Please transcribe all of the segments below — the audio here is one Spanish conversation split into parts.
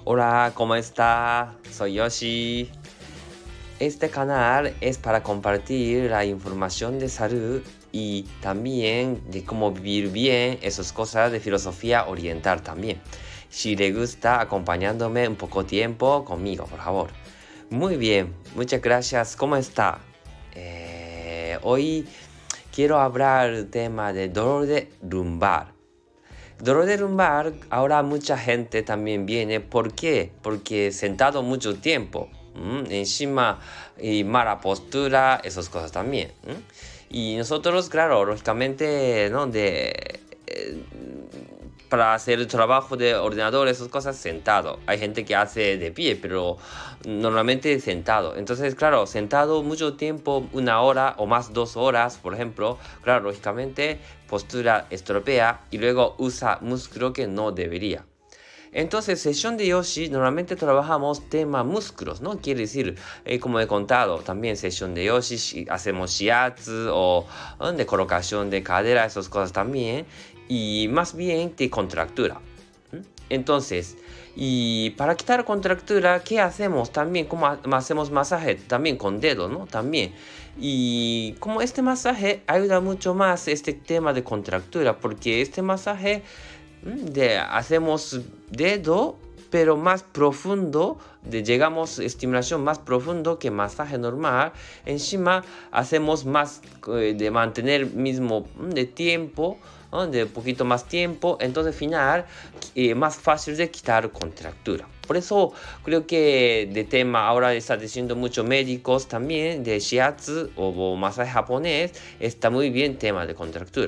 Hola, ¿cómo está? Soy Yoshi. Este canal es para compartir la información de salud y también de cómo vivir bien, esas cosas de filosofía oriental también. Si le gusta, acompañándome un poco tiempo conmigo, por favor. Muy bien, muchas gracias. ¿Cómo está? Hoy quiero hablar del tema de dolor de lumbar. Dolor de lumbar, ahora mucha gente también viene. ¿Por qué? Porque sentado mucho tiempo. Encima, y mala postura, esas cosas también. Y nosotros, claro, lógicamente, ¿no? Para hacer el trabajo de ordenador, esas cosas, sentado. Hay gente que hace de pie, pero normalmente sentado. Entonces, claro, sentado mucho tiempo, 1 hora o más 2 horas, por ejemplo, claro, lógicamente, postura estropea y luego usa músculo que no debería. Entonces, sesión de Yoshi, normalmente trabajamos tema músculos, ¿no? Quiere decir, como he contado, también sesión de Yoshi, hacemos shiatsu o de colocación de cadera, esas cosas también, y más bien de contractura. Entonces, y para quitar contractura, ¿qué hacemos? También, ¿cómo hacemos masaje? También con dedo, ¿no? También. Y como este masaje ayuda mucho más este tema de contractura, porque este masaje hacemos dedo, pero más profundo, llegamos a estimulación más profundo que masaje normal. Encima hacemos más de mantener mismo de tiempo, ¿no? De poquito más tiempo, entonces al final más fácil de quitar contractura. Por eso creo que de tema ahora está diciendo muchos médicos también de shiatsu o masaje japonés, está muy bien tema de contractura.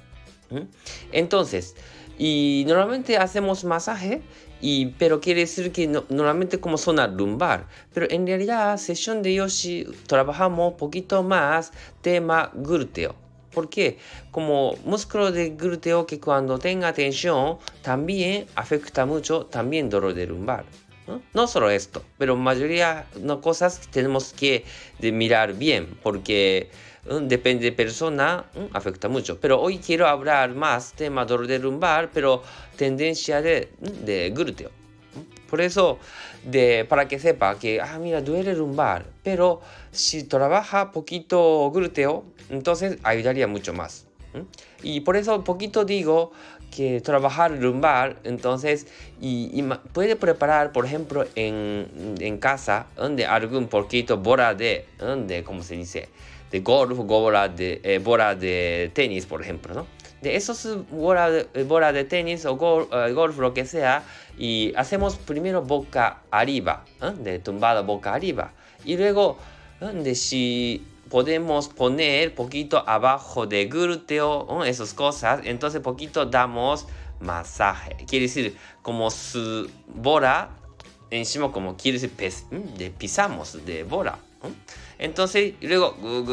Entonces, y normalmente hacemos masaje, pero quiere decir que normalmente como zona lumbar. Pero en realidad, sesión de Yoshi trabajamos un poquito más tema glúteo. ¿Por qué? Como músculo de glúteo que cuando tenga tensión también afecta mucho también dolor de lumbar. No solo esto, pero mayoría de cosas que tenemos que mirar bien, porque depende de persona, afecta mucho. Pero hoy quiero hablar más tema dolor de lumbar, pero tendencia de glúteo. Por eso, para que sepa que, mira, duele lumbar, pero si trabaja poquito glúteo, entonces ayudaría mucho más. Y por eso poquito digo que trabajar lumbar, entonces, puede preparar, por ejemplo, en casa, donde algún poquito bola ¿cómo se dice? De golf, bola de tenis, por ejemplo, ¿no? De esos bola de tenis o golf, lo que sea, y hacemos primero boca arriba, de tumbada boca arriba, y luego, si podemos poner poquito abajo de glúteo, esas cosas, entonces poquito damos masaje. Quiere decir, como su bola, encima como quiere decir, pisamos de bola. Entonces, luego,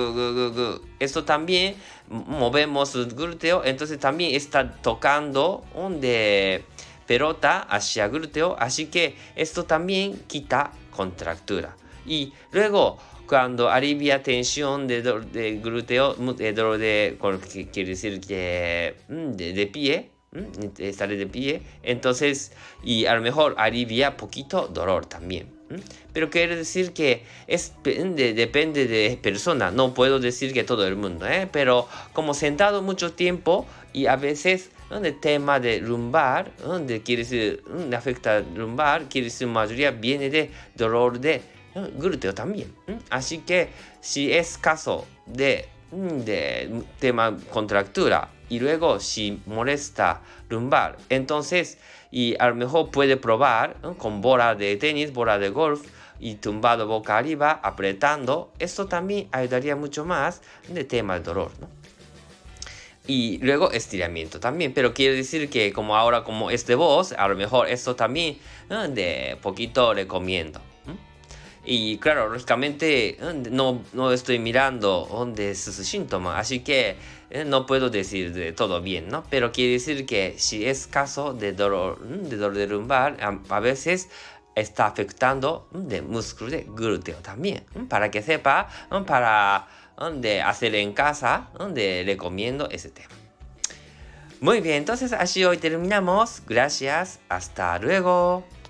esto también movemos el glúteo, entonces también está tocando de pelota hacia glúteo, así que esto también quita contractura. Y luego, cuando alivia tensión de glúteo, dolor que quiere decir que de pie, estar de pie, entonces, y a lo mejor alivia poquito dolor también. Pero quiere decir que depende de persona, no puedo decir que todo el mundo, pero como sentado mucho tiempo y a veces de tema de lumbar, donde quiere decir afecta lumbar, quiere decir mayoría viene de dolor de glúteo también. Así que si es caso de tema contractura y luego si molesta lumbar, entonces y a lo mejor puede probar con bola de tenis, bola de golf y tumbado boca arriba, apretando. Esto también ayudaría mucho más de tema de dolor, ¿no? Y luego estiramiento también, pero quiere decir que como ahora como es de voz, a lo mejor esto también de poquito recomiendo. Y claro, lógicamente no estoy mirando dónde es su síntoma, así que no puedo decir de todo bien, ¿no? Pero quiere decir que si es caso de dolor de lumbar, a veces está afectando de músculo de glúteo también. Para que sepa, para hacer en casa, donde recomiendo ese tema. Muy bien, entonces así hoy terminamos. Gracias, hasta luego.